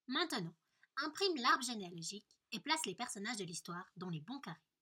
Maintenant, imprime l'arbre généalogique et place les personnages de l'histoire dans les bons carrés.